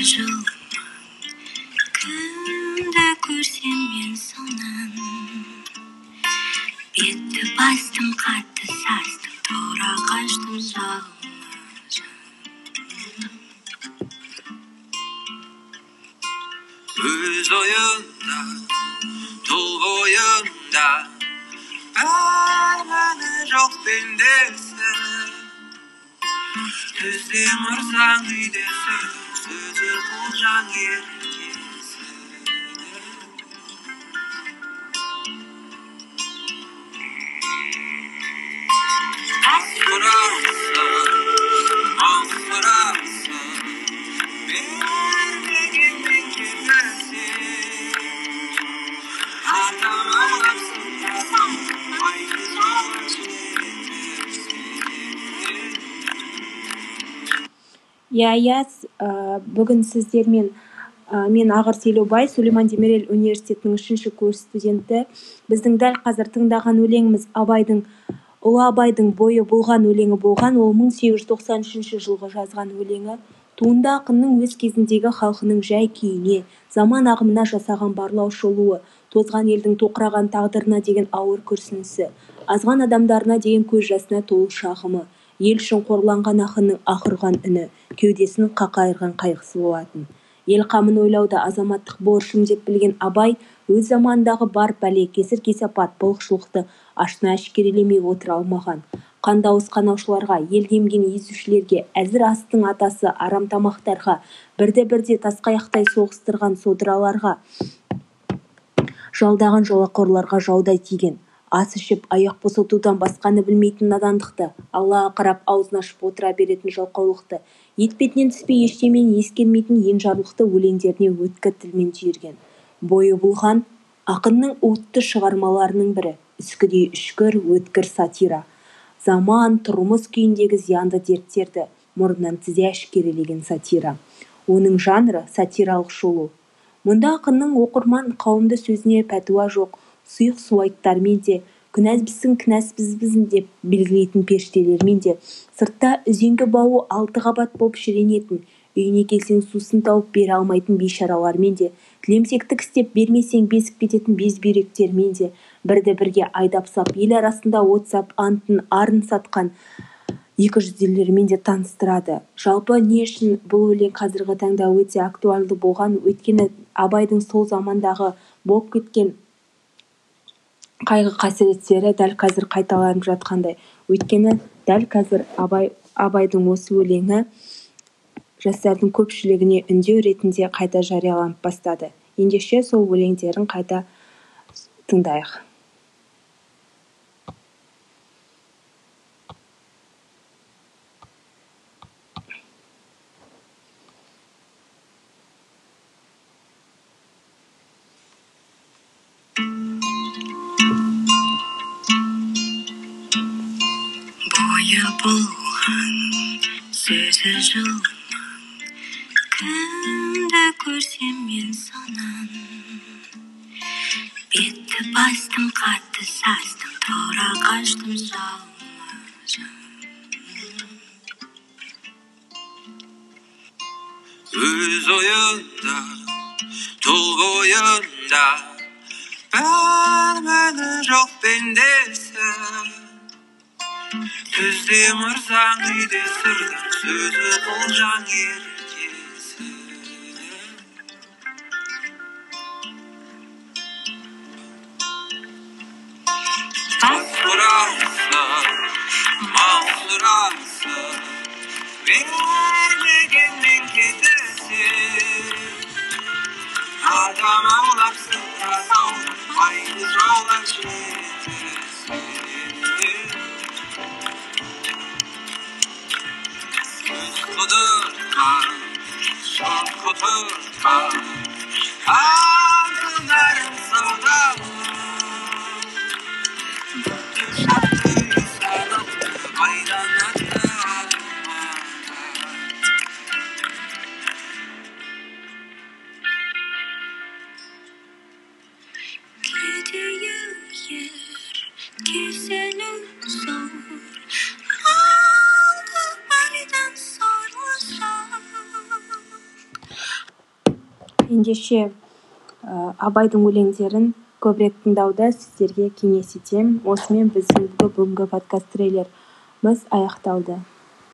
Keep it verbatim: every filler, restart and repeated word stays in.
жыл кімді көрсем мен сонан бетті бастым қатты састым тура қаштым жалына өз ойында тұл бойында бәрі жоқ пендесі түзде мұрсаң үйдесі сөзі құлжаң еркесі Асқырасың, мақсырасың бермегенмен кетесің атам аулапсың қасам айды жауын иә иә бүгін сіздермен мен Ағыр Селеубай, Сулейман Демирел университетінің үшінші курс студенті. Біздің дәл қазір тыңдаған өлеңіміз Абайдың Ұлы Абайдың бойы болған өлеңі болған. Ол мың сегіз жүз тоқсан үшінші жылғы жазған өлеңі. Туынды ақынның өз кезіндегі халқының жай күйіне, заман ағымына жасаған барлау шолуы, тозған елдің тоқыраған тағдырына деген ауыр күрсінісі, азған адамдарына деген көз жасына толы шағымы, ел үшін қорланған ақынның ақырған үні, кеудесін қақайырған қайғысы болатын. Ел қамын ойлауда азаматтық борышым деп білген Абай, өз заманындағы бар бәле, кесір-кесапат, былықшылықты ашына әшкерелемей отыра алмаған. Қандауыз қанаушыларға, ел емген езушілерге, әзір астың атасы арамтамақтарға, бірде-бірде тасқаяқтай соғыстырған содыраларға, жалдаған жолақорларға жаудай тиген. Ас ішіп, аяқ босатудан басқаны білмейтін надандықты, Аллаға қарап аузын ашып отыра беретін жалқаулықты, етпетінен түспей ештемені ескермейтін енжарлықты өлеңдеріне өткір тілмен түйірген. Бойы болған ақынның уытты шығармаларының бірі, үскідей үшкір, өткір сатира. Заман, тұрмыс күйіндегі зиянды дерттерді мұрнынан тізе әшкерелеген сатира. Оның жанры сатиралық шолу. Мұнда ақынның оқырман қауымды сөзіне пәтуа жоқ, сұйық суайттармен де, күнәсбізсің кінәсбізбізін деп белгілейтін періштелермен де, сыртта үзеңгі бауы алты қабат болып шіренетін, үйіне келсең сусын тауып бере алмайтын бейшаралармен де, тілемсектік істеп бермесең безіп кететін безбүйректермен де, бірді-бірге айдап сап, ел арасында от сап, антын, арын сатқан екі жүзділермен де таныстырады. Жалпы не үшін бұл өлең қазіргі таңда өте актуальды болған? Өйткені Абайдың сол замандағы болып кеткен қайғы қасіреттері дәл қазір қайталанып жатқандай. Өйткені дәл қазір Абай Абайдың осы өлеңі жастардың көпшілігіне үндеу ретінде қайта жарияланып бастады. Ендеше сол өлеңдерін қайта тыңдайық. Бойы болған сөзі жылының кімді көрсем мен сонан бетті бастым қатты састым тура қаштым жалына өз ойында тұл бойында бәрі жоқ пендесі түзде мұрсаң үйдесі сөзі құлжаң еркесі Асқырасың, мақсырасың бермегенмен кетесің адам аулапсың қасау айды жауған жетесің Құдыртқан, шын құтыртқан, алтын әрін саудалы. Бүкіл шақты үй садық, майдан атты алымада. ендеше ә, Абайдың өлеңдерін көбірек тыңдауды сіздерге кеңес етемін. Осымен біздің бүгінгі подкаст трейлеріміз аяқталды.